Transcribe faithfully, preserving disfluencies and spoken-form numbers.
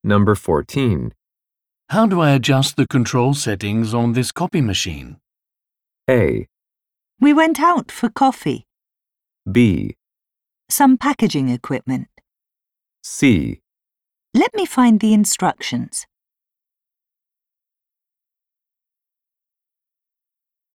Number fourteen. How do I adjust the control settings on this copy machine? A. We went out for coffee. B. Some packaging equipment. C. Let me find the instructions.